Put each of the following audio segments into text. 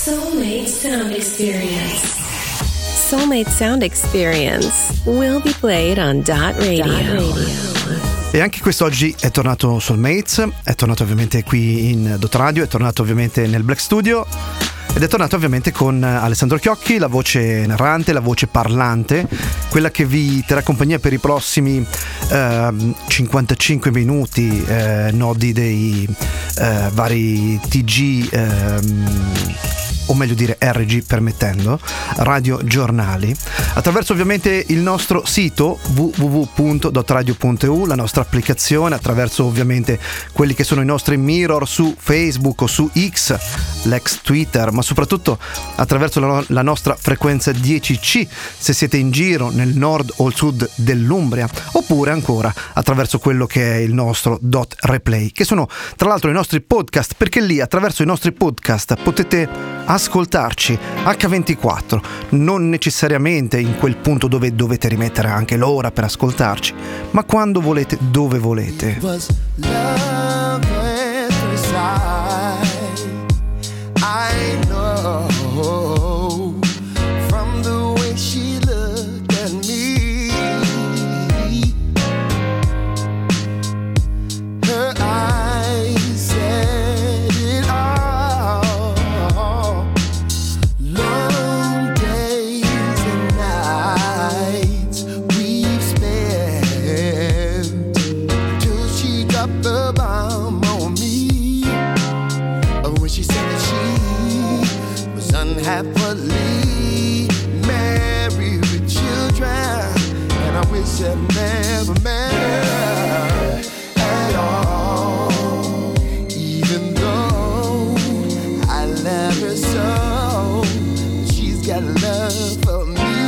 Soulmate Sound Experience. Soulmate Sound Experience will be played on Dot Radio. E anche quest'oggi è tornato Soulmates, è tornato ovviamente qui in Dot Radio, è tornato ovviamente nel Black Studio ed è tornato ovviamente con Alessandro Chiocchi, la voce narrante, la voce parlante, quella che vi terrà compagnia per i prossimi 55 minuti, nodi dei vari TG, o meglio dire RG permettendo, radiogiornali, attraverso ovviamente il nostro sito www.dotradio.eu, la nostra applicazione, attraverso ovviamente quelli che sono i nostri mirror su Facebook o su X, l'ex Twitter, ma soprattutto attraverso la nostra frequenza 10C se siete in giro nel nord o il sud dell'Umbria, oppure ancora attraverso quello che è il nostro Dot Replay, che sono tra l'altro i nostri podcast, perché lì attraverso i nostri podcast potete ascoltarci H24, non necessariamente in quel punto dove dovete rimettere anche l'ora per ascoltarci, ma quando volete, dove volete. Happily married with children, and I wish I'd never met her at all. Even though I love her so, she's got love for me,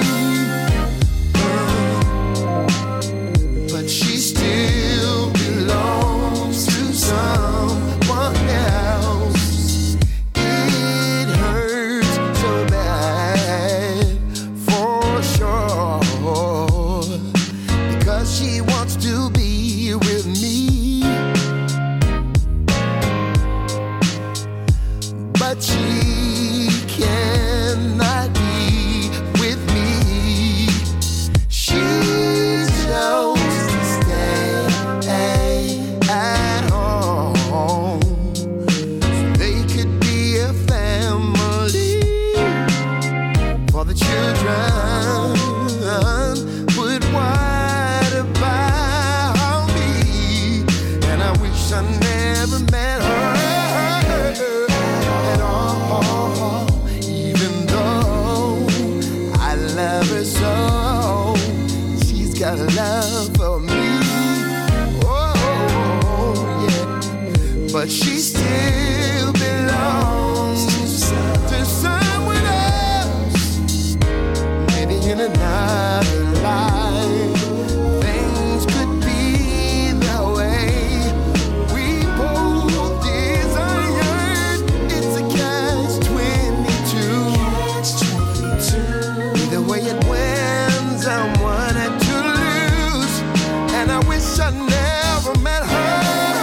but she still belongs to someone else. She wants to be with me, but she cannot be with me. She chose to stay at home so they could be a family for the children. But why about me? And I wish I never met her at all. Even though I love her so, she's got love for me. Oh yeah, but she still belongs to someone else. Maybe in another life things could be the way we both desired. It's a catch-22. Either way it wins, I'm one and to lose, and I wish I never met her.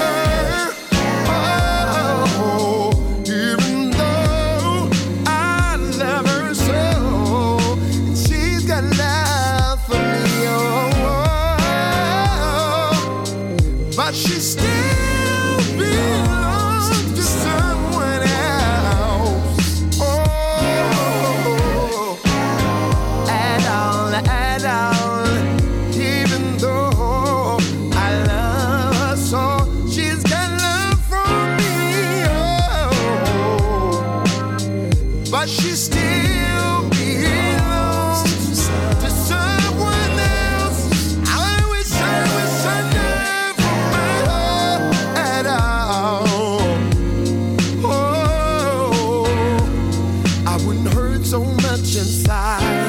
Oh, even though I love her so, and she's got love for me, but she still belongs to someone else. Oh, at all, even though I love her so, she's got love for me. Oh, but she still belongs to someone else. I wish I never met her at all. Oh, I wouldn't hurt so much inside.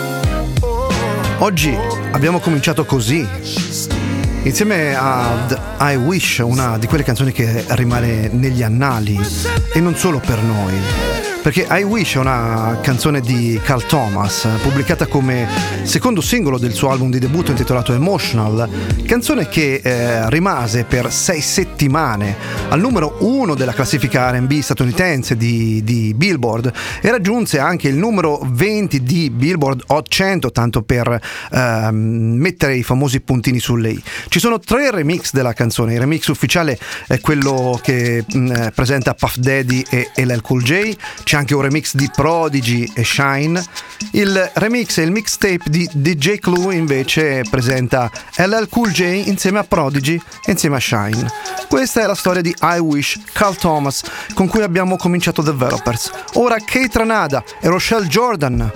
Oggi abbiamo cominciato così, insieme ad I Wish, una di quelle canzoni che rimane negli annali, e non solo per noi. perché I Wish è una canzone di Carl Thomas, pubblicata come secondo singolo del suo album di debutto intitolato Emotional, canzone che rimase per 6 settimane al numero 1 della classifica R&B statunitense di Billboard e raggiunse anche il numero 20 di Billboard Hot 100, tanto per mettere i famosi puntini sulle i. Ci sono 3 remix della canzone. Il remix ufficiale è quello che presenta Puff Daddy e LL Cool J, c'è anche un remix di Prodigy e Shine. Il remix e il mixtape di DJ Clue invece presenta LL Cool J insieme a Prodigy e insieme a Shine. Questa è la storia di I Wish, Carl Thomas, con cui abbiamo cominciato Developers. Ora Kate Ranada e Rochelle Jordan.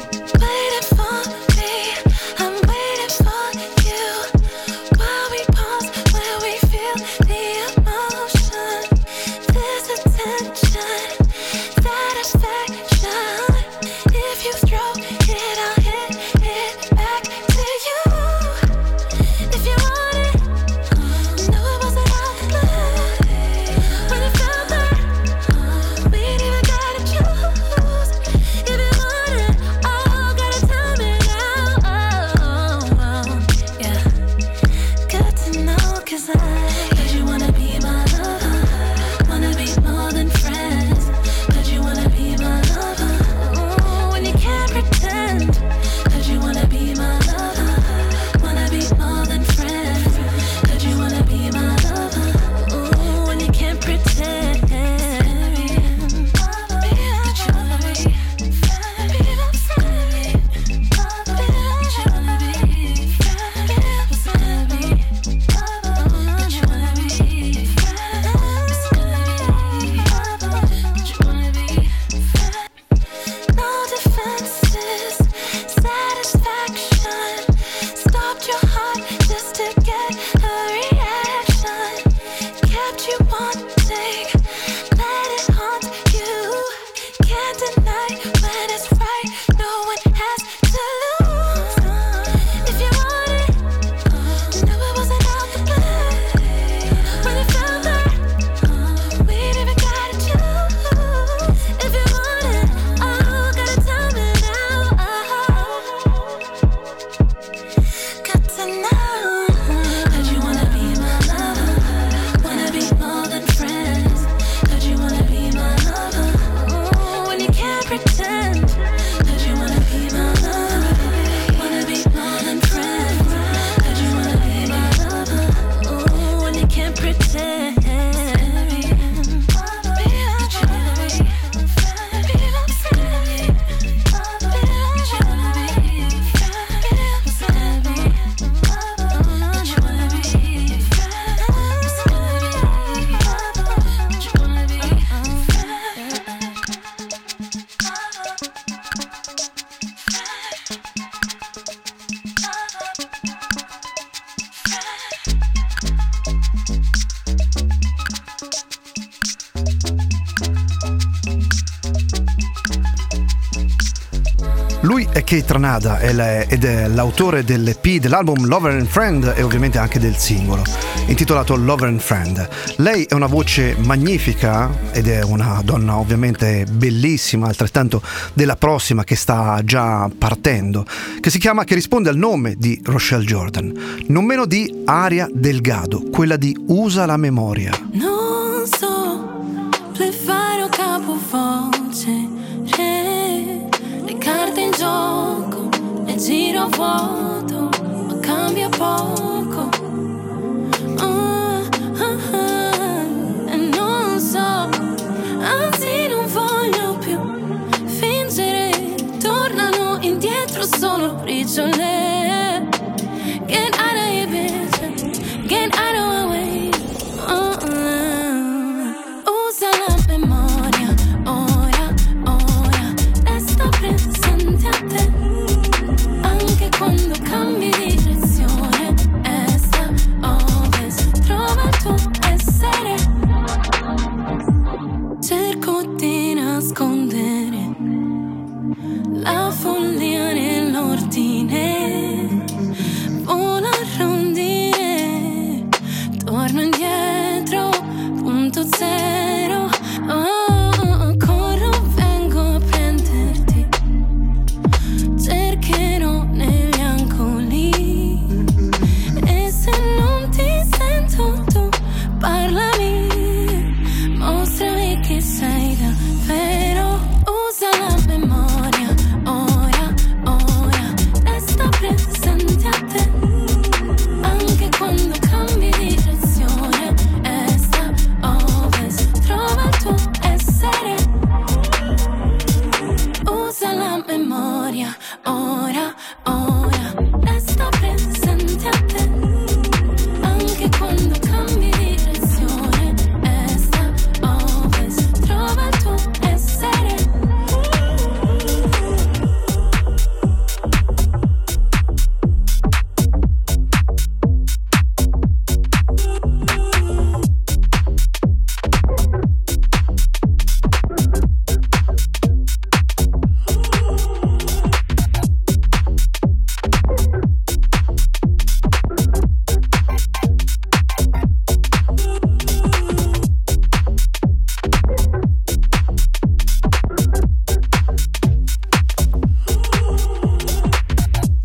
Lui è Kate Ranada ed è l'autore dell'EP, dell'album Lover and Friend e ovviamente anche del singolo intitolato Lover and Friend. Lei è una voce magnifica ed è una donna ovviamente bellissima, altrettanto della prossima che sta già partendo, che risponde al nome di Rochelle Jordan, non meno di Aria Delgado, quella di Usa la memoria. Non so fare o capovolgere le carte in gioco, le giro a vuoto, ma cambia poco. E non so, anzi non voglio più fingere, tornano indietro solo briciole. Get out of here, bitch, get out of my way. Usa la memoria, ora, resta presente a te, anche quando cambi direzione, est, ovest, trova il tuo essere. Cerco di nascondere la follia nell'ordine, vola a rondine, torno indietro, punto zero. Corro, vengo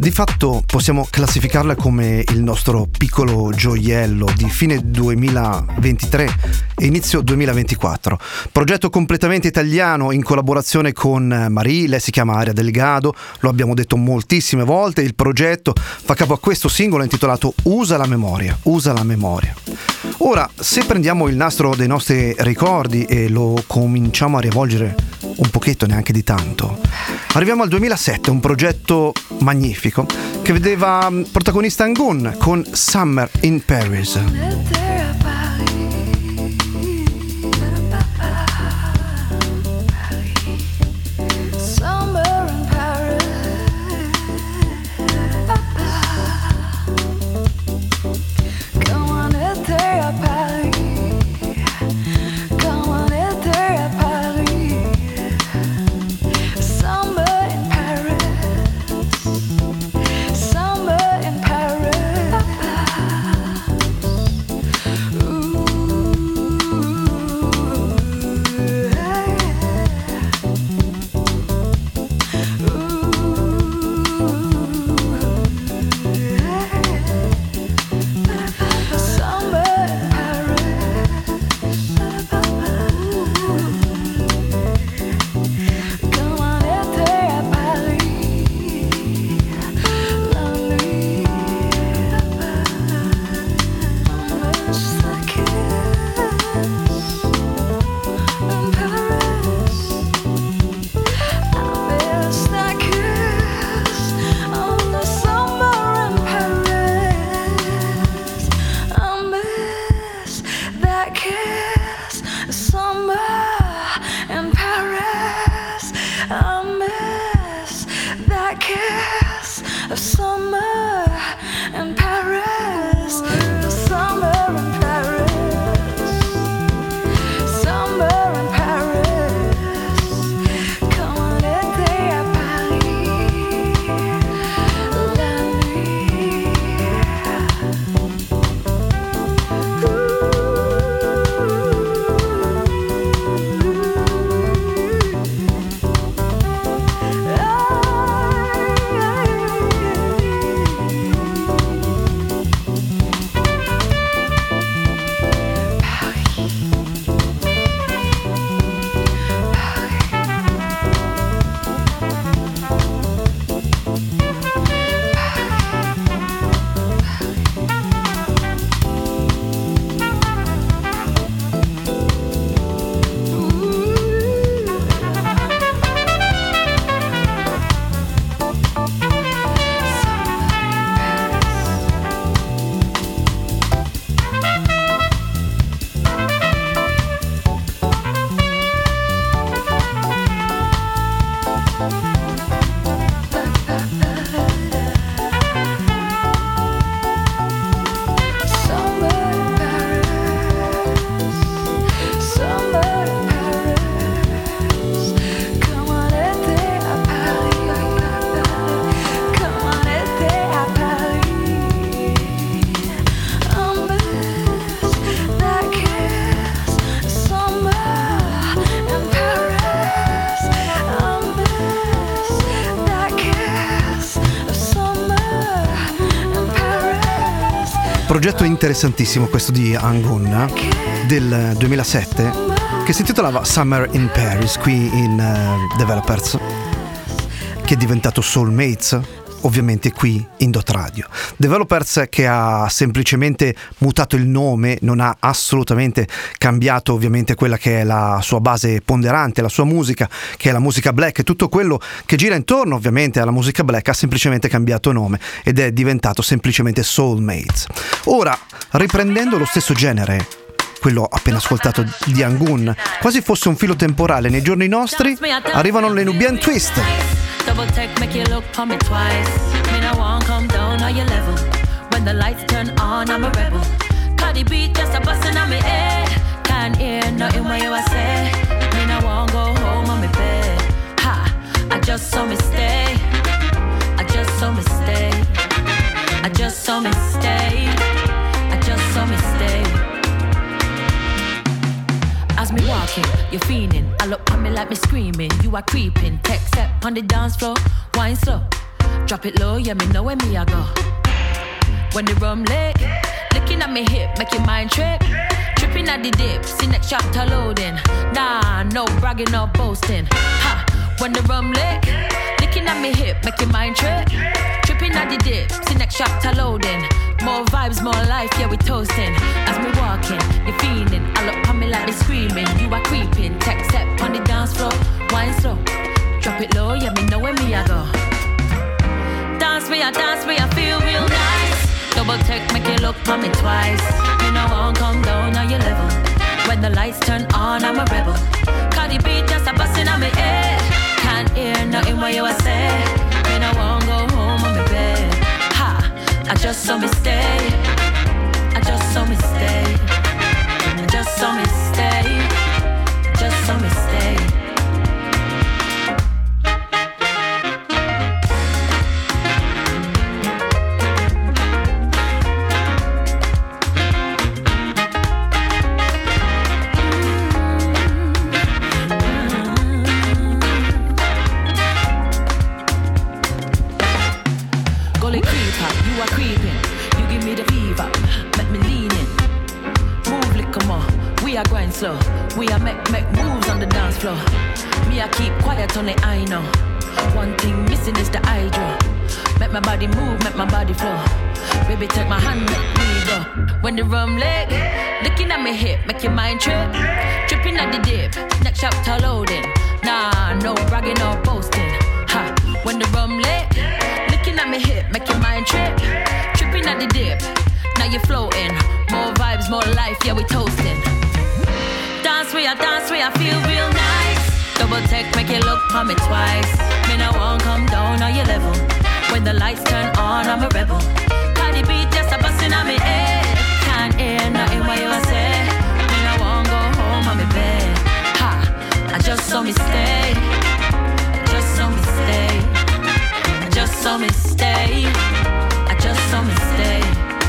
Di fatto possiamo classificarla come il nostro piccolo gioiello di fine 2023 e inizio 2024. Progetto completamente italiano in collaborazione con Marie, lei si chiama Aria Delgado, lo abbiamo detto moltissime volte. Il progetto fa capo a questo singolo intitolato Usa la memoria, usa la memoria. Ora, se prendiamo il nastro dei nostri ricordi e lo cominciamo a rivolgere un pochetto, neanche di tanto, arriviamo al 2007, un progetto magnifico che vedeva protagonista Angun con Summer in Paris. Progetto interessantissimo questo di Angun del 2007 che si intitolava Summer in Paris qui in Developers, che è diventato Soulmates ovviamente qui in Dot Radio. Developers che ha semplicemente mutato il nome, non ha assolutamente cambiato ovviamente quella che è la sua base ponderante, la sua musica, che è la musica black, e tutto quello che gira intorno ovviamente alla musica black ha semplicemente cambiato nome ed è diventato semplicemente Soulmates. Ora, riprendendo lo stesso genere, quello appena ascoltato di Angun, quasi fosse un filo temporale nei giorni nostri, arrivano le Nubian Twist. Double take, make you look for me twice. Me no want come down on your level. When the lights turn on, I'm a rebel. Cardi beat just a bustin' on me head. Can't hear nothing what you a say. Me no want go home on me bed. Ha, I just saw me stay. I just saw me stay. I just saw me stay. I just saw me stay. As me walking, you're fiending. I look on me like me screaming. You are creeping. Tech step on the dance floor, wine slow. Drop it low, yeah, me know where me I go. When the rum lit, looking at me hip, make your mind trip. Tripping at the dip, see next chapter loading. Nah, no bragging or boasting. Ha, when the rum lit, looking at me hip, make your mind trip. Tripping at the dip, see next chapter loading. More vibes, more life, yeah, we toasting. As me walking, you feeling. I look on me like me screaming. You are creeping, tech step on the dance floor. Wine slow, drop it low, yeah, me know where me I go. Dance me, I feel real nice. Double tech, make you look on me twice. Me no won't come down on your level. When the lights turn on, I'm a rebel. Cardi B just a bustin' on me head. Can't hear nothing what you a say. Me no won't go home on me bed. Ha, I just saw me stay. I just saw me stay. I just saw me stay. Just saw me stay. Slow. We are make moves on the dance floor. Me I keep quiet on it, I know. One thing missing is the hydro. Make my body move, make my body flow. Baby take my hand, make me go. When the rum leg, looking at me hip, make your mind trip. Tripping at the dip, next chapter loading. Nah, no bragging or boasting. Ha, when the rum leg, looking at me hip, make your mind trip. Tripping at the dip, now you're floating. More vibes, more life, yeah we toasting. Dance we, I feel real nice. Double tech, make you look on me twice. Me no won't come down on your level. When the lights turn on, I'm a rebel. Cardi B just a bustin' on me head. Can't hear nothing what you say. Me no won't go home on me bed. Ha, I just saw me stay. I just saw me stay. I just saw me stay. I just saw me stay.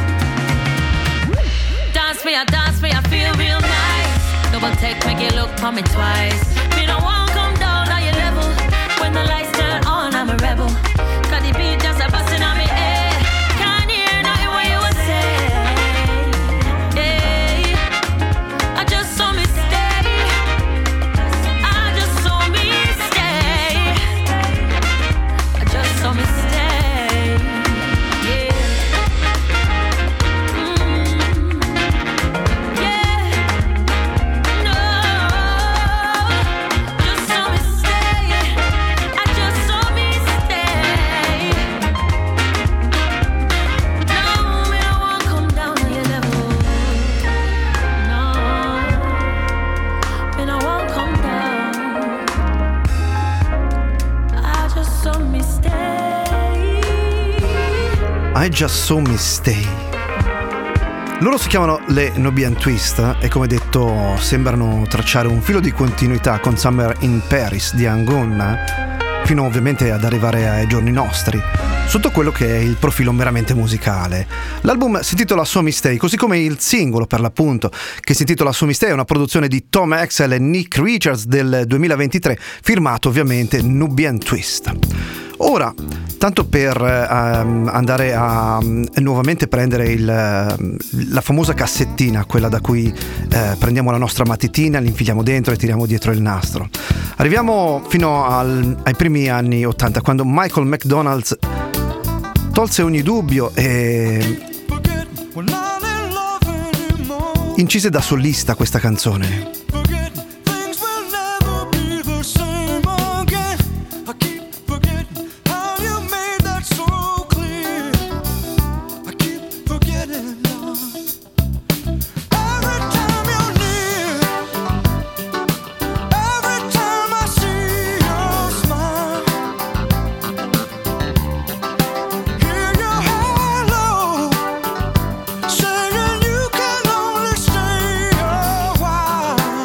Dance me, I feel real nice. Double take, make you look for me twice. Me no won't come down on your level. When the lights turn on, I'm a rebel. Cause the beat just a bustin' on me head. Can't hear nothing what you would say. Hey, I just saw me stay. I just saw me stay. I just saw me stay. Yeah. I Just Saw Me Stay. Loro si chiamano le Nubian Twist e come detto sembrano tracciare un filo di continuità con Summer in Paris di Angon fino ovviamente ad arrivare ai giorni nostri sotto quello che è il profilo meramente musicale. L'album si intitola So Me Stay, così come il singolo per l'appunto che si intitola So Me Stay, è una produzione di Tom Axel e Nick Richards del 2023, firmato ovviamente Nubian Twist. Ora, tanto per andare a nuovamente prendere la famosa cassettina, quella da cui prendiamo la nostra matitina, l'infiliamo dentro e tiriamo dietro il nastro. Arriviamo fino ai primi anni 80, quando Michael McDonald tolse ogni dubbio e incise da solista questa canzone. Saying you can only stay a while.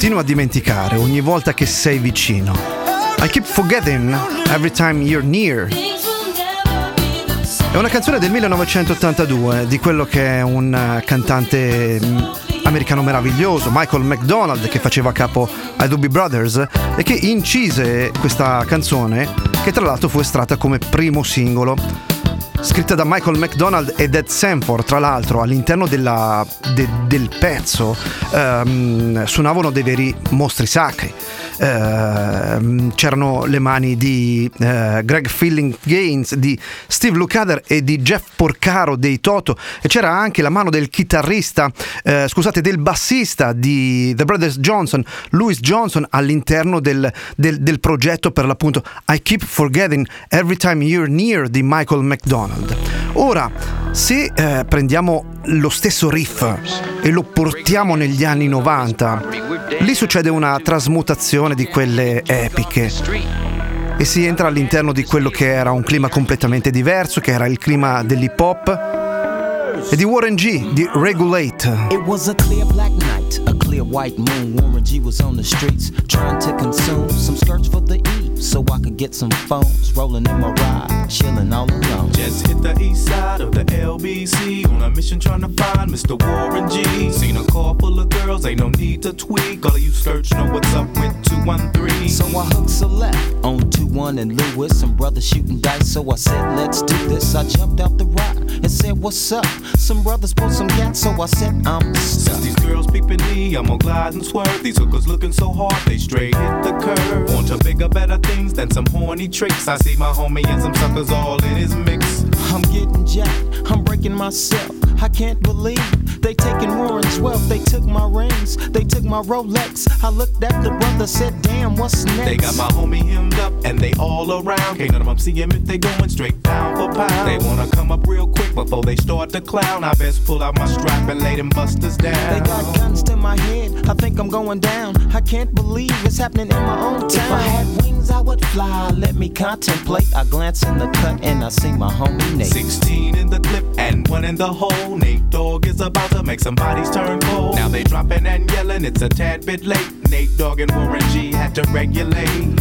continua a dimenticare ogni volta che sei vicino. I keep forgetting every time you're near. È una canzone del 1982 di quello che è un cantante americano meraviglioso, Michael McDonald, che faceva capo ai Doobie Brothers e che incise questa canzone, che tra l'altro fu estratta come primo singolo, scritta da Michael McDonald e Ed Sanford. Tra l'altro all'interno del pezzo suonavano dei veri mostri sacri. C'erano le mani di Greg Filling Gaines, di Steve Lukather e di Jeff Porcaro dei Toto, e c'era anche la mano del del bassista di The Brothers Johnson, Louis Johnson, all'interno del progetto per l'appunto I Keep Forgetting Every Time You're Near di Michael McDonald. Ora, se prendiamo lo stesso riff e lo portiamo negli anni 90, lì succede una trasmutazione di quelle epiche e si entra all'interno di quello che era un clima completamente diverso, che era il clima dell'hip hop e di Warren G, di Regulate. It was a clear black night, a clear white moon. Warren G was on the streets trying to consume some skirts for the E, so I could get some phones. Rolling in my ride, chilling all alone. Just hit the east side of the LBC on a mission trying to find Mr. Warren G. Seen a car full of girls, ain't no need to tweak. All of you skirts know what's up with 213. So I hooked a left on 21 and Lewis. Some brothers shooting dice, so I said, let's do this. I jumped out the ride and said, what's up? Some brothers pulled some gas, so I said, I'm stuck. Since these girls peeping me, I'm gonna glide and swerve. These hookers looking so hard, they straight hit the curve. Want to bigger, better things than some horny tricks. I see my homie and some suckers all in his mix. I'm getting jacked, I'm breaking myself. I can't believe they taking Warren's wealth. They took my rings, they took my Rolex. I looked at the brother, said, damn, what's next? They got my homie hemmed up and they all around. Can't none of them see him if they going straight pound for pound. They wanna come up real quick before they start to clown. I best pull out my strap and lay them busters down. They got guns to my head, I think I'm going down. I can't believe it's happening in my own town. If I had wings, I would fly, let me contemplate. I glance in the cut and I see my homie Nate. 16 in the clip and 1 in the hole. Nate Dogg is about to make some bodies turn cold. Now they dropping and yelling, it's a tad bit late. Nate Dogg and Warren G had to regulate.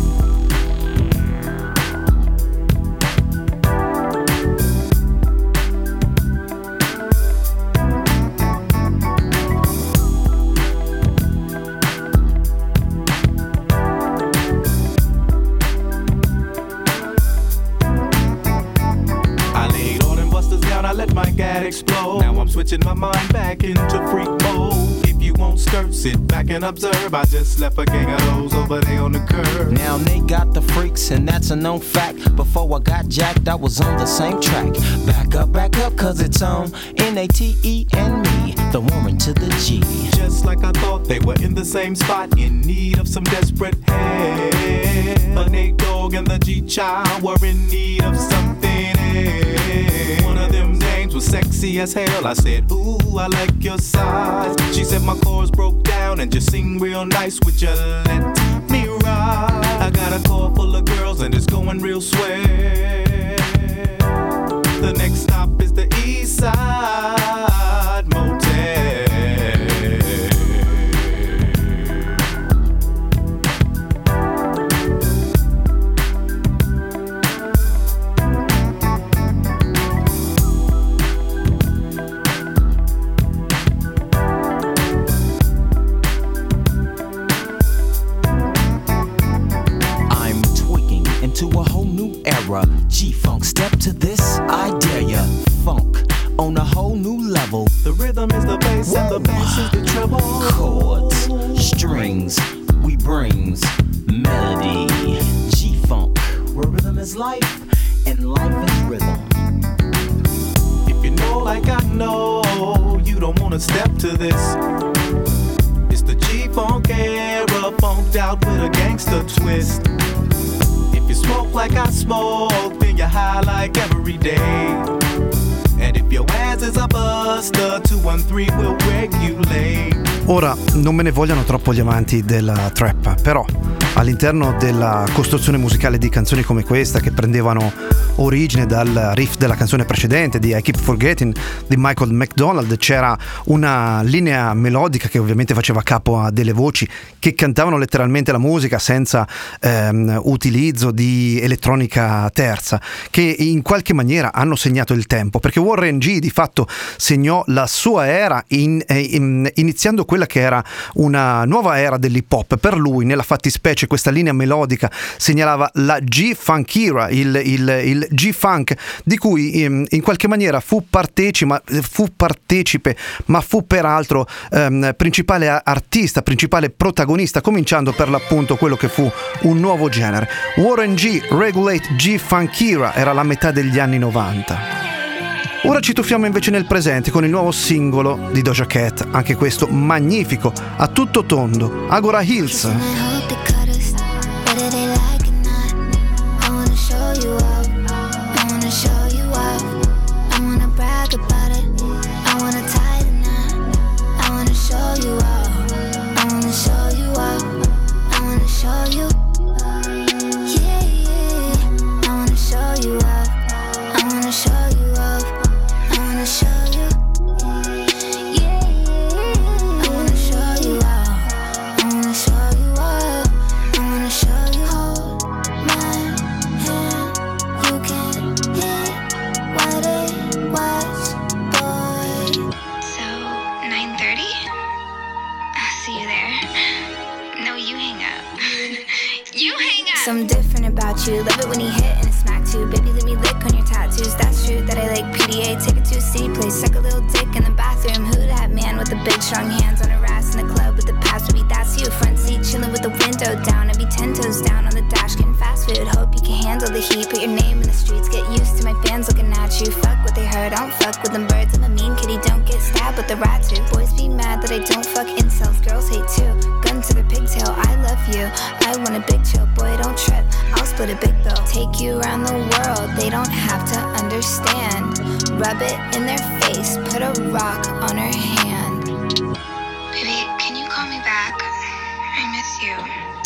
Explode. Now I'm switching my mind back into freak mode. If you won't skirt, sit back and observe. I just left a gang of those over there on the curb. Now they got the freaks and that's a known fact. Before I got jacked, I was on the same track. Back up, cause it's on N-A-T-E and me, the Warren to the G. Just like I thought, they were in the same spot, in need of some desperate help. But Nate Dogg and the G-Child were in need of something else. One of them dames was sexy as hell. I said, ooh, I like your size. She said my chords broke down and just sing real nice. Would you let me ride? I got a car full of girls and it's going real swell. The next stop is the East Side Motel. G-Funk, step to this, I dare ya. Funk on a whole new level. The rhythm is the bass and the bass is the treble. Chords, strings, we brings melody. G-Funk, where rhythm is life and life is rhythm. If you know like I know, you don't wanna step to this. It's the G-Funk era, funked out with a gangster twist. If you smoke like I smoke, then you're high like every day. And if your ass is a buster, 213 will regulate. Ora, non me ne vogliano troppo gli amanti della trap, però all'interno della costruzione musicale di canzoni come questa, che prendevano origine dal riff della canzone precedente di I Keep Forgetting di Michael McDonald, c'era una linea melodica che ovviamente faceva capo a delle voci che cantavano letteralmente la musica senza utilizzo di elettronica terza, che in qualche maniera hanno segnato il tempo, perché Warren G di fatto segnò la sua era iniziando quella che era una nuova era dell'hip hop. Per lui, nella fattispecie, questa linea melodica segnalava la G-Funk era, il G-Funk, di cui in qualche maniera fu partecipe, ma fu peraltro principale artista, principale protagonista, cominciando per l'appunto quello che fu un nuovo genere. Warren G, Regulate G-Funk era la metà degli anni 90. Ora ci tuffiamo invece nel presente con il nuovo singolo di Doja Cat, anche questo magnifico, a tutto tondo, Agora Hills. Something different about you. Love it when you hit and it's smack too. Baby, let me lick on your tattoos. That's true that I like PDA. Take it to a city place, suck a little dick in the bathroom. Who that man with the big strong hands on her ass in the club with the past? Maybe that's you. Front seat chilling with the window down. I'd be 10 toes down on the dash getting fast food. Hope you can handle the heat. Put your name in the streets. Get used to my fans looking at you. Fuck what they heard. I don't fuck with them birds. I'm a mean kitty. Don't get stabbed with the rat too. Boys be mad that I don't fuck incels. Girls hate too. Gun to their pigtail. I love you. I want a big chill. Boy, don't trip. I'll split a big bill. Take you around the world. They don't have to understand. Rub it in their face. Put a rock on her hand. Baby, can you call me back? I miss you.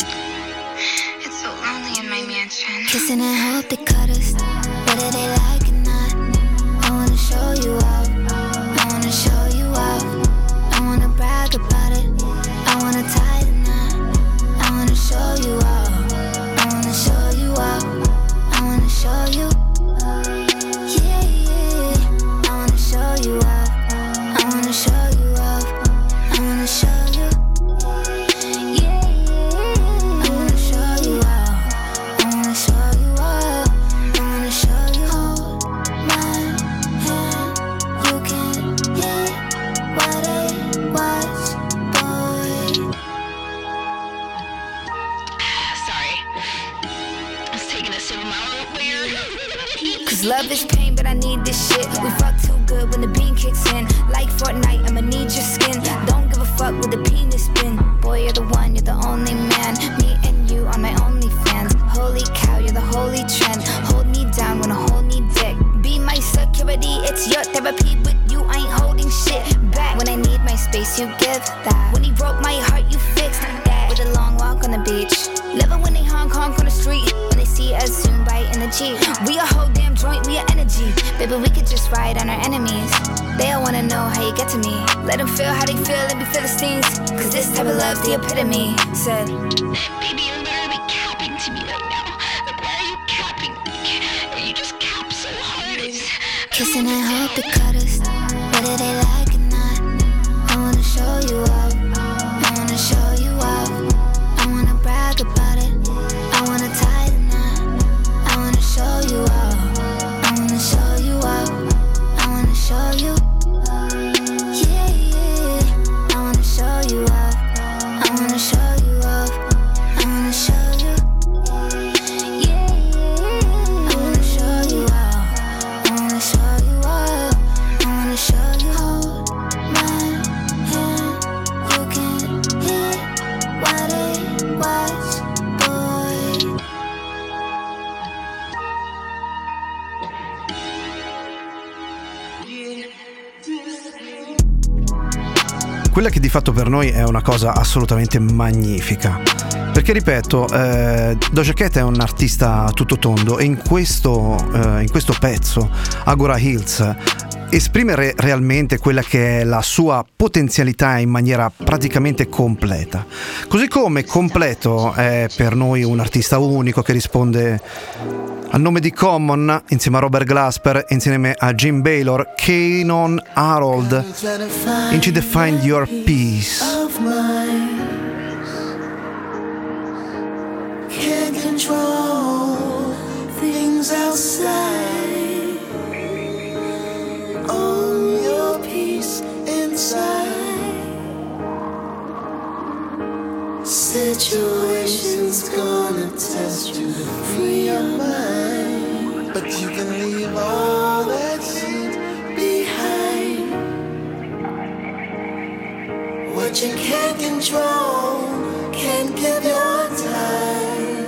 It's so lonely in my mansion. Kissing and hope they cut us. Whether they like it or not. I wanna show you up. I wanna show you up. I wanna brag about it. I wanna tie the knot. I wanna show you up. Show you up, I wanna show you, yeah, yeah. I wanna show you up, I wanna show you up, I wanna show you, yeah, yeah. I wanna show you up, I wanna show you up, I wanna show you. Hold my hand, you can hit what it was, boy. Cause love is pain, but I need this shit. We fuck too good when the bean kicks in. Like Fortnite, I'ma need your skin. Don't give a fuck with the penis spin. Boy, you're the one, you're the only man. Me and you are my only fans. Holy cow, you're the holy trend. Hold me down when I hold me dick. Be my security, it's your therapy. With you, I ain't holding shit back. When I need my space, you give that. When he broke my heart, you fixed that. With a long walk on the beach. Love it when they honk on the street. When they see us soon bite in the Jeep. We a whole damn joint, we a energy. Baby, we could just ride on our enemies. They all wanna know how you get to me. Let them feel how they feel and be Philistines. Cause this type of love's the epitome. Said, baby, you're literally capping to me right now. Like, why are you capping? You just cap so hard. Kissing and hope they cut us. Whether they like it or not. I wanna show you up. I wanna show you up. I wanna brag about it. I wanna tie the knot. I wanna show you up. I wanna show you up. I wanna show you. Yeah, yeah. I wanna show you up. I wanna show you up. I wanna show you. Yeah, yeah. I wanna show you up. I wanna show you up. I wanna show you. Hold my hand. You can hit what it was, boy. Quella che di fatto per noi è una cosa assolutamente magnifica Perché ripeto, Doja Cat è un artista a tutto tondo e in questo pezzo Agora Hills esprime realmente quella che è la sua potenzialità in maniera praticamente completa. Così come completo è per noi un artista unico che risponde al nome di Common insieme a Robert Glasper, insieme a Jim Baylor, Kanon Harold, in To Find Your Peace. Can't control things outside. Own your peace inside. Situations gonna test you to free your mind, but you can leave all that shit behind. What you can't control, can't give your time.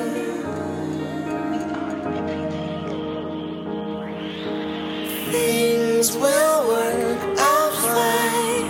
Things will work out fine.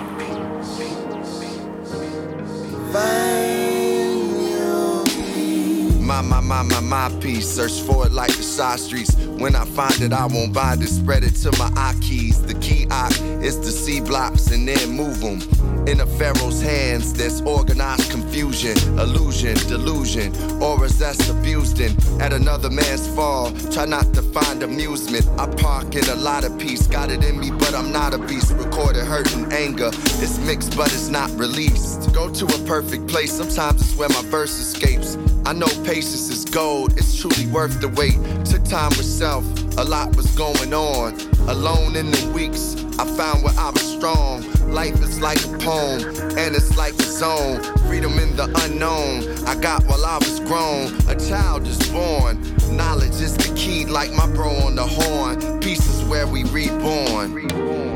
Find your peace. My piece. Search for it like the side streets. When I find it, I won't bind it. Spread it to my eye keys. The key eye is to see blocks and then move them. In a pharaoh's hands, there's organized confusion, illusion, delusion, auras that's abused in. At another man's fall, try not to find amusement. I park in a lot of peace. Got it in me, but I'm not a beast. Recorded hurt and anger. It's mixed, but it's not released. Go to a perfect place. Sometimes it's where my verse escapes. I know patience is gold, it's truly worth the wait. Took time with self, a lot was going on. Alone in the weeks, I found where I was strong. Life is like a poem, and it's like a zone. Freedom in the unknown, I got while I was grown. A child is born, knowledge is the key, like my bro on the horn. Peace is where we reborn.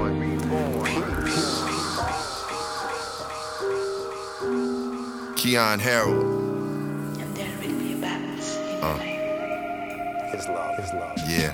Keon Harold. His love. Yeah.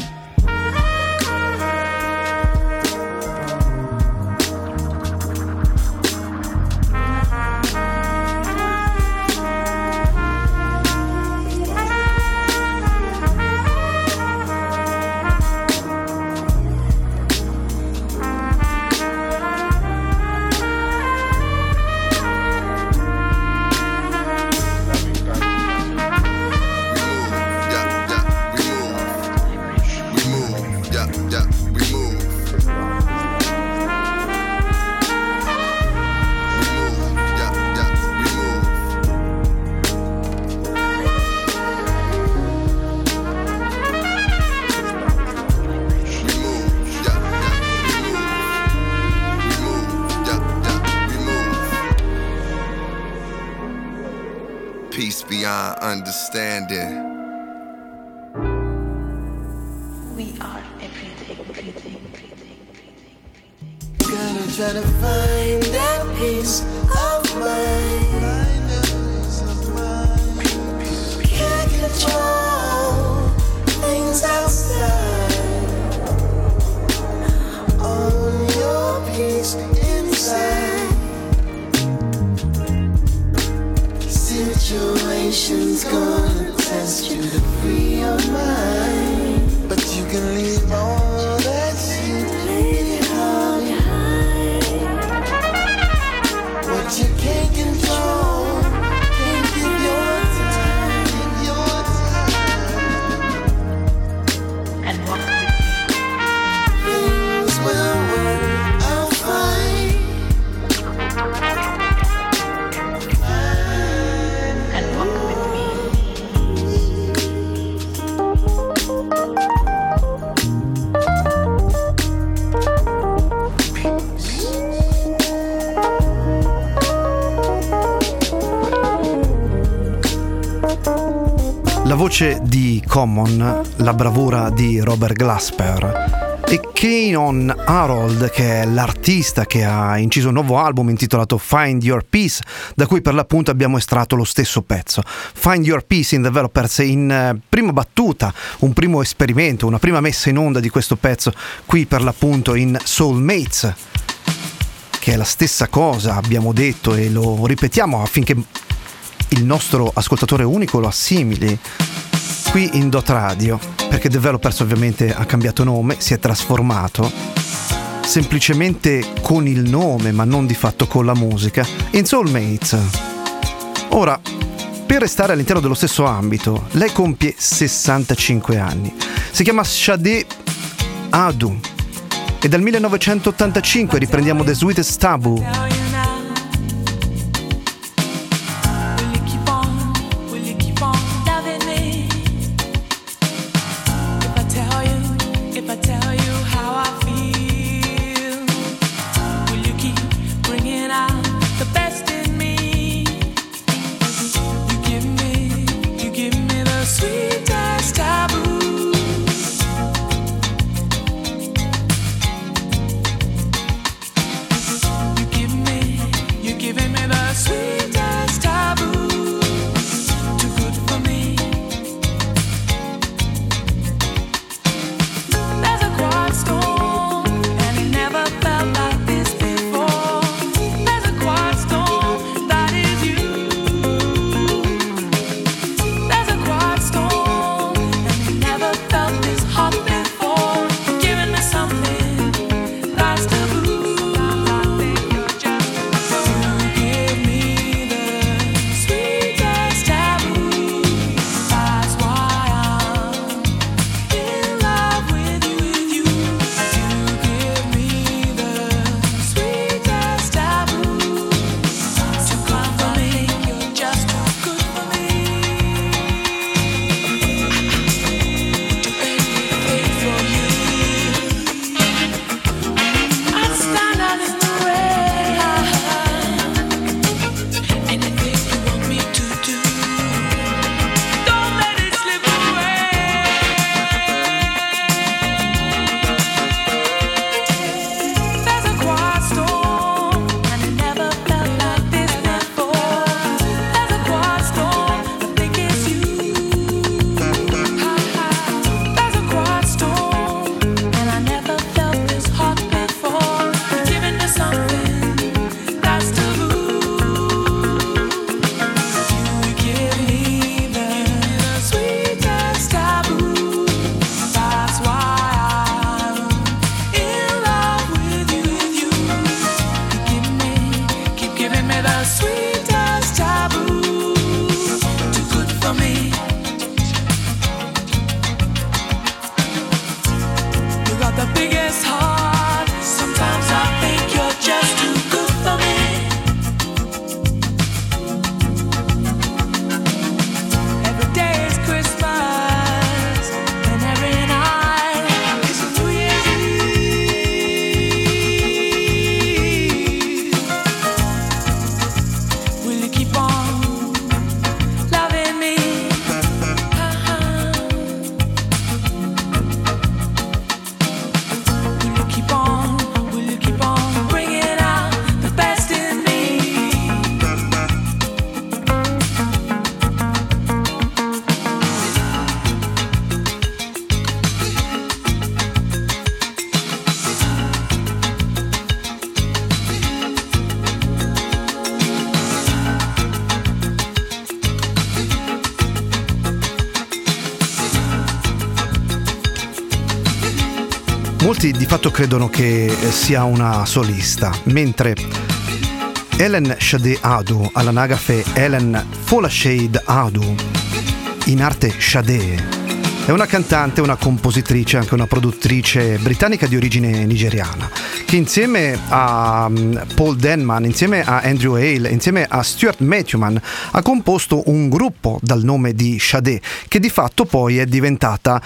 Beyond understanding. We are everything. Gonna try to find that peace of mind. Can't control things outside. Own your peace inside. Situation's gonna test you to free your mind, but you can leave all that shit behind. What you can't control, can't give your time, and walk with me. Things will work out fine. La voce di Common, la bravura di Robert Glasper e Kanon Harold, che è l'artista che ha inciso un nuovo album intitolato Find Your Peace, da cui per l'appunto abbiamo estratto lo stesso pezzo. Find Your Peace in Developers, in prima battuta, un primo esperimento, una prima messa in onda di questo pezzo qui per l'appunto in Soulmates, che è la stessa cosa, abbiamo detto e lo ripetiamo affinché il nostro ascoltatore unico lo assimili qui in Dot Radio, perché Developers ovviamente ha cambiato nome, si è trasformato semplicemente con il nome ma non di fatto con la musica in Soulmates. Ora, per restare all'interno dello stesso ambito, lei compie 65 anni, si chiama Sade Adu e dal 1985 riprendiamo The Sweetest Taboo. Molti di fatto credono che sia una solista, mentre Helen Sade Adu, all'anagrafe Helen Folashade Adu, in arte Sade, è una cantante, una compositrice, anche una produttrice britannica di origine nigeriana, che insieme a Paul Denman, insieme a Andrew Hale, insieme a Stuart Matthewman ha composto un gruppo dal nome di Sade, che di fatto poi è diventata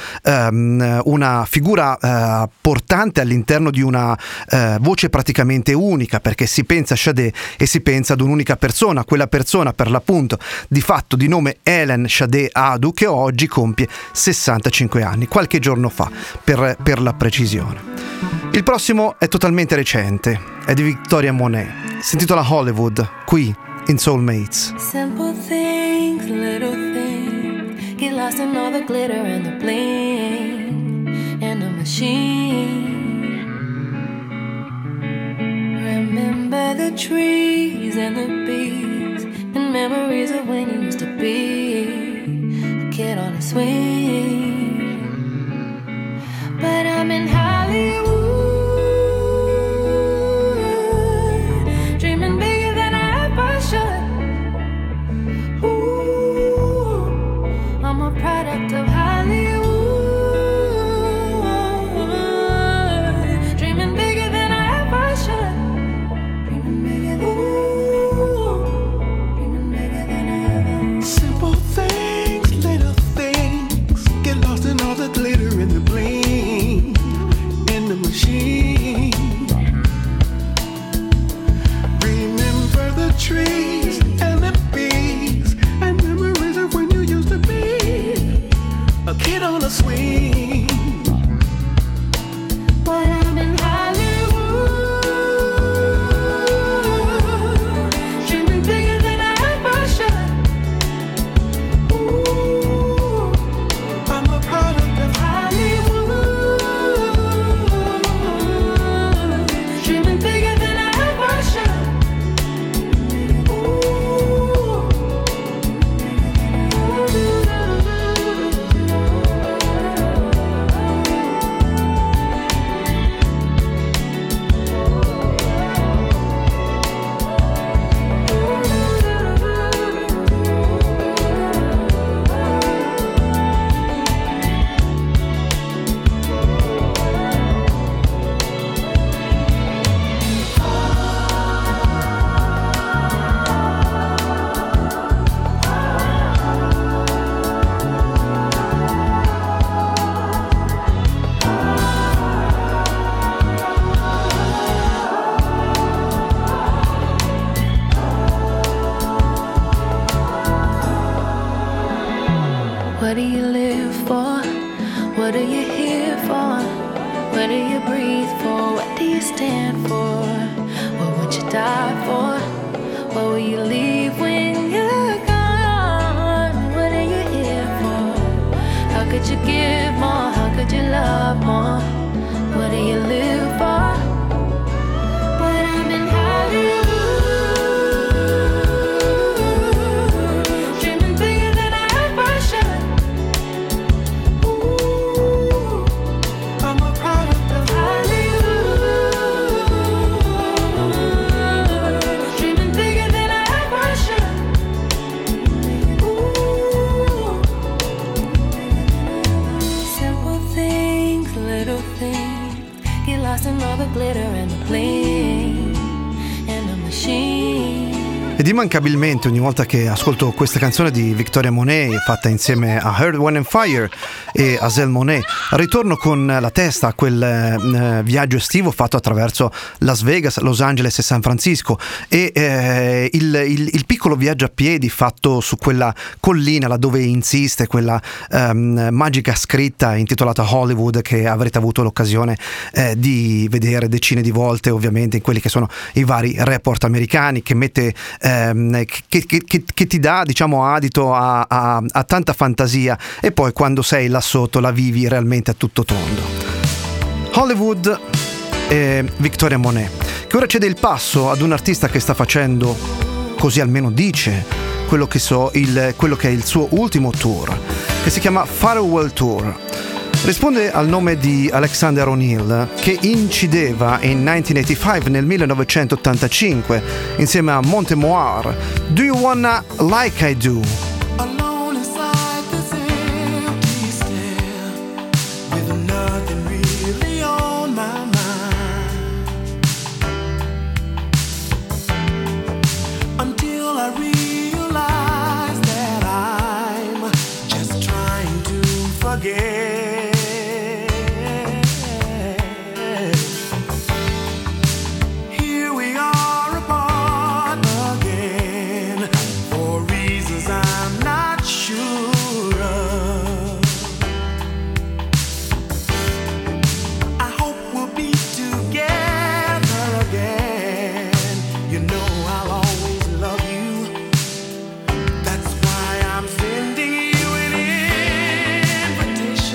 una figura portante all'interno di una voce praticamente unica, perché si pensa a Sade e si pensa ad un'unica persona, quella persona per l'appunto di fatto di nome Helen Sade Adu, che oggi compie 65 anni, qualche giorno fa per la precisione. Il prossimo è totalmente recente, è di Victoria Monet, si intitola Hollywood, qui in Soulmates. Simple things, little things, get lost in all the glitter and the bling and the machine. Remember the trees and the bees and memories of when you used to be a kid on a swing. But I'm in Hollywood, dreaming bigger than I ever should. Ooh, I'm a product of Hollywood. Trees and the bees and memories of when you used to be a kid on a swing. But I'm in Hollywood, dreaming bigger than I ever should. Ooh, I'm a product of Hollywood, dreaming bigger than I ever should. What do you live for? What are you here for? What do you breathe for? What do you stand for? What would you die for? What will you leave when you're gone? What are you here for? How could you give more? How could you love more? What do you live for? But I'm in Hollywood. And all the glitter and the bling and the machine. Ed immancabilmente ogni volta che ascolto questa canzone di Victoria Monet fatta insieme a Earth, Wind and Fire e Azelle Monet, ritorno con la testa a quel viaggio estivo fatto attraverso Las Vegas, Los Angeles e San Francisco e il piccolo viaggio a piedi fatto su quella collina laddove insiste quella magica scritta intitolata Hollywood, che avrete avuto l'occasione di vedere decine di volte ovviamente in quelli che sono i vari report americani, che mette che ti dà, diciamo, adito a tanta fantasia, e poi quando sei là sotto la vivi realmente a tutto tondo. Hollywood e Victoria Monet, che ora cede il passo ad un artista che sta facendo, così almeno dice, quello che è il suo ultimo tour, che si chiama Farewell Tour. Risponde al nome di Alexander O'Neill, che incideva in 1985, nel 1985, insieme a Montemoir, Do You Wanna Like I Do? alone inside this empty stare with nothing really on my mind until I realize that I'm just trying to forget. That's why I'm sending you an invitation.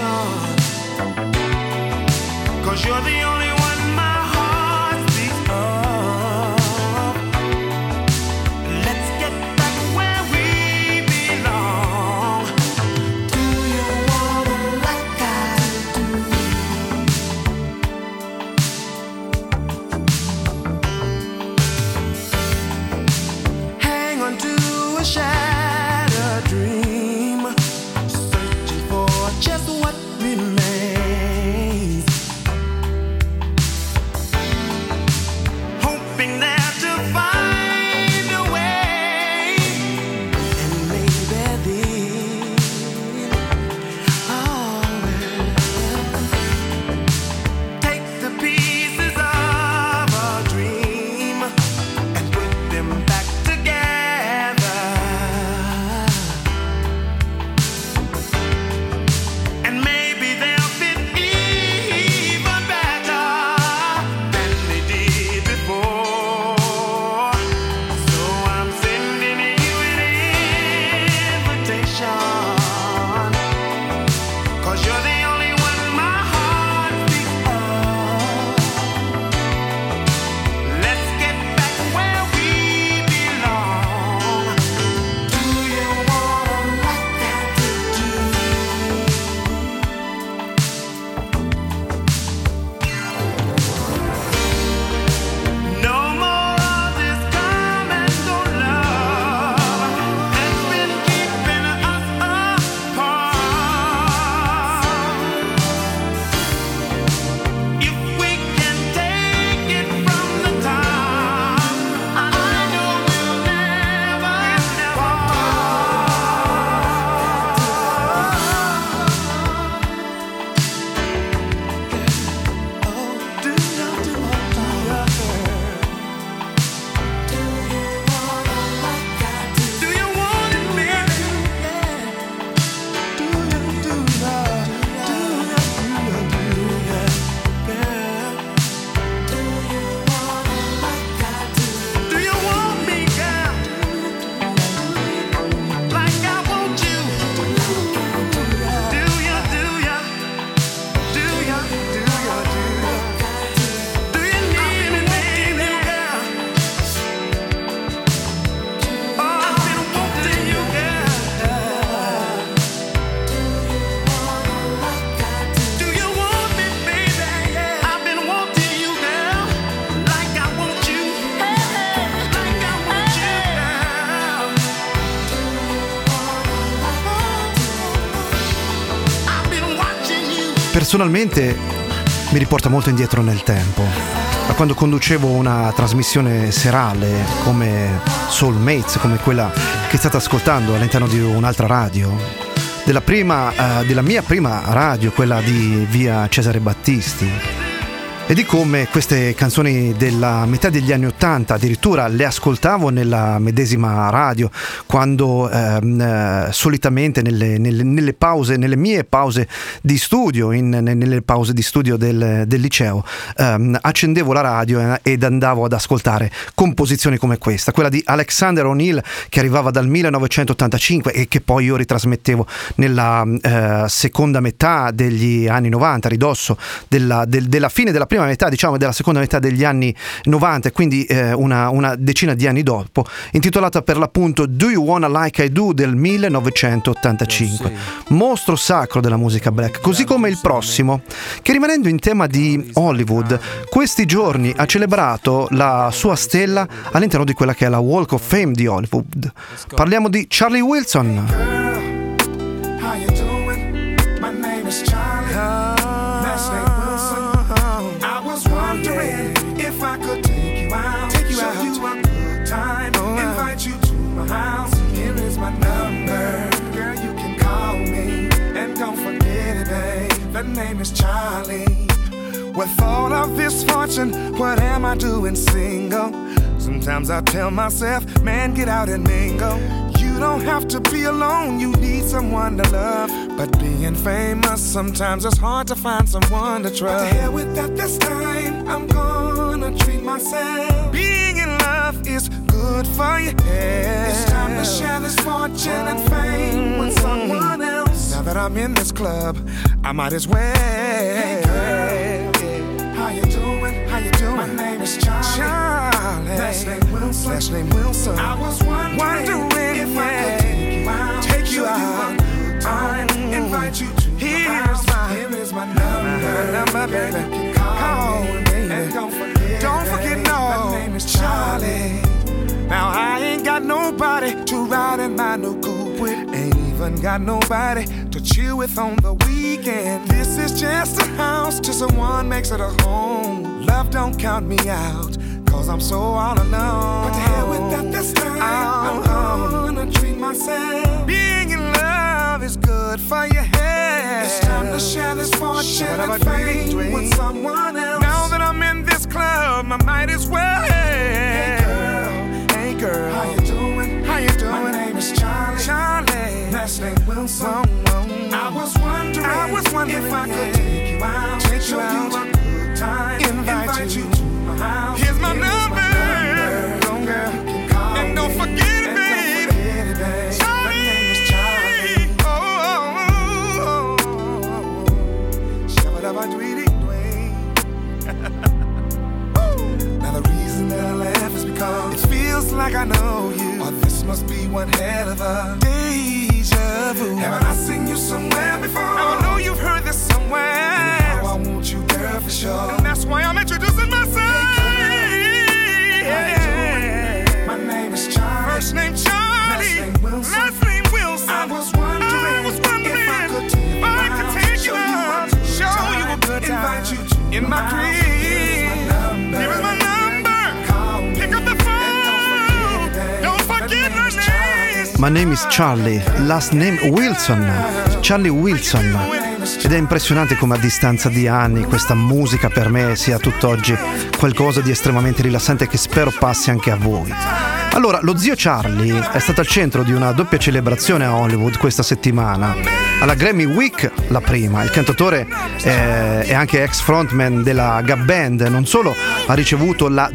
personalmente mi riporta molto indietro nel tempo, a quando conducevo una trasmissione serale come Soulmates, come quella che state ascoltando all'interno di un'altra radio, della mia prima radio, quella di via Cesare Battisti, e di come queste canzoni della metà degli anni '80 addirittura le ascoltavo nella medesima radio, quando solitamente nelle pause, nelle mie pause di studio, nelle pause di studio del liceo, accendevo la radio ed andavo ad ascoltare composizioni come questa, quella di Alexander O'Neal, che arrivava dal 1985 e che poi io ritrasmettevo nella seconda metà degli anni 90, a ridosso della fine della prima metà, diciamo, della seconda metà degli anni 90, quindi una decina di anni dopo, intitolata per l'appunto Do You Wanna Like I Do del 1985, mostro sacro della musica black, così come il prossimo, che rimanendo in tema di Hollywood, questi giorni ha celebrato la sua stella all'interno di quella che è la Walk of Fame di Hollywood. Parliamo di Charlie Wilson. How you doing? My name is Charlie. Last name Wilson. I was wondering if I could take you out, show you a good time, invite you to my house. Here is my number, girl, you can call me, and don't forget it, babe. The name is Charlie. With all of this fortune, what am I doing single? Sometimes I tell myself, man, get out and mingle. You don't have to be alone, you need someone to love. But being famous, sometimes it's hard to find someone to trust. But to hell with that, this time I'm gonna treat myself. Being in love is good for your head. It's time to share this fortune and fame with someone else. Now that I'm in this club, I might as well. Hey girl, how you doing? How you doing? My name is Charlie. Last name Wilson. Last name Wilson. I was wondering if I could take you out, invite you to here is my number, baby. Call me, and don't forget, no, my name is Charlie. Now I ain't got nobody to ride in my new coupe with, ain't even got nobody to chill with on the weekend. This is just a house till someone makes it a home. Love don't count me out, cause I'm so all alone. But to hell with that, this time I'm gonna treat myself. Being in love is good for your head. It's time to share this fortune and fame with someone else. Now that I'm in this club, I might as well. Hey girl, how you doing? How you doing? My name is Charlie. Charlie. Last name Wilson. I was wondering if I could take you out, show you a good time, invite you to my house. Here's my number. Girl, and don't forget it, babe. Charlie. My name is Charlie. Oh. Now the reason that I laugh is because it feels like I know you, or this must be one hell of a deja vu. Haven't I seen you somewhere before? Now I know you've heard this somewhere. And I want you, girl, for sure. And that's why I'm introducing myself. My name is Charlie. First name Charlie. Last name Wilson. I was wondering if I could take you out, show you a good time, invite you to in my crib. Here is my number. Pick up the phone. Don't forget my name. My name is Charlie, last name Wilson. Charlie Wilson. Ed è impressionante come a distanza di anni questa musica per me sia tutt'oggi qualcosa di estremamente rilassante che spero passi anche a voi. Allora, lo zio Charlie è stato al centro di una doppia celebrazione a Hollywood questa settimana. Alla Grammy Week, la prima, il cantautore è anche ex frontman della Gap Band, non solo ha ricevuto la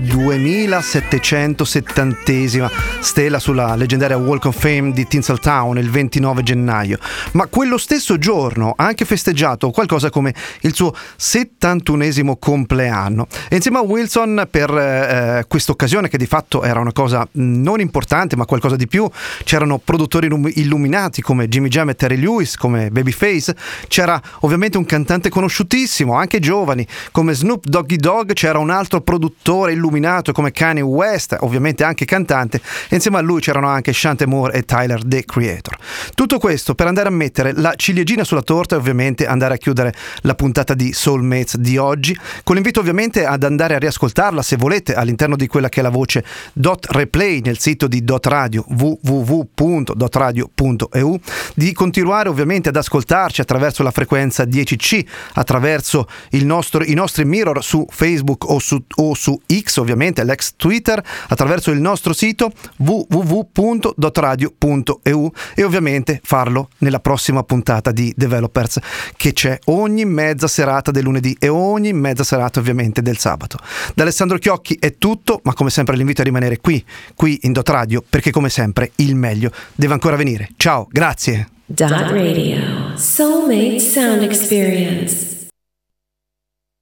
2770esima stella sulla leggendaria Walk of Fame di Tinseltown il 29 gennaio, ma quello stesso giorno ha anche festeggiato qualcosa come il suo 71esimo compleanno. E insieme a Wilson, per questa occasione, che di fatto era una cosa non importante ma qualcosa di più, c'erano produttori illuminati come Jimmy Jam e Terry Lewis, come come Babyface, c'era ovviamente un cantante conosciutissimo, anche giovani, come Snoop Doggy Dogg, c'era un altro produttore illuminato come Kanye West, ovviamente anche cantante, e insieme a lui c'erano anche Shante Moore e Tyler, The Creator. Tutto questo per andare a mettere la ciliegina sulla torta e ovviamente andare a chiudere la puntata di Soulmates di oggi, con l'invito ovviamente ad andare a riascoltarla, se volete, all'interno di quella che è la voce Dot Replay nel sito di Dot Radio, www.dotradio.eu, di continuare ovviamente ad ascoltarci attraverso la frequenza 10C, attraverso i nostri mirror su Facebook o su X, ovviamente l'ex Twitter, attraverso il nostro sito www.dotradio.eu, e ovviamente farlo nella prossima puntata di Developers, che c'è ogni mezza serata del lunedì e ogni mezza serata ovviamente del sabato. Da Alessandro Chiocchi è tutto, ma come sempre l'invito a rimanere qui in Dot Radio, perché come sempre il meglio deve ancora venire. Ciao, grazie. Dot Radio, Soulmate Sound Experience.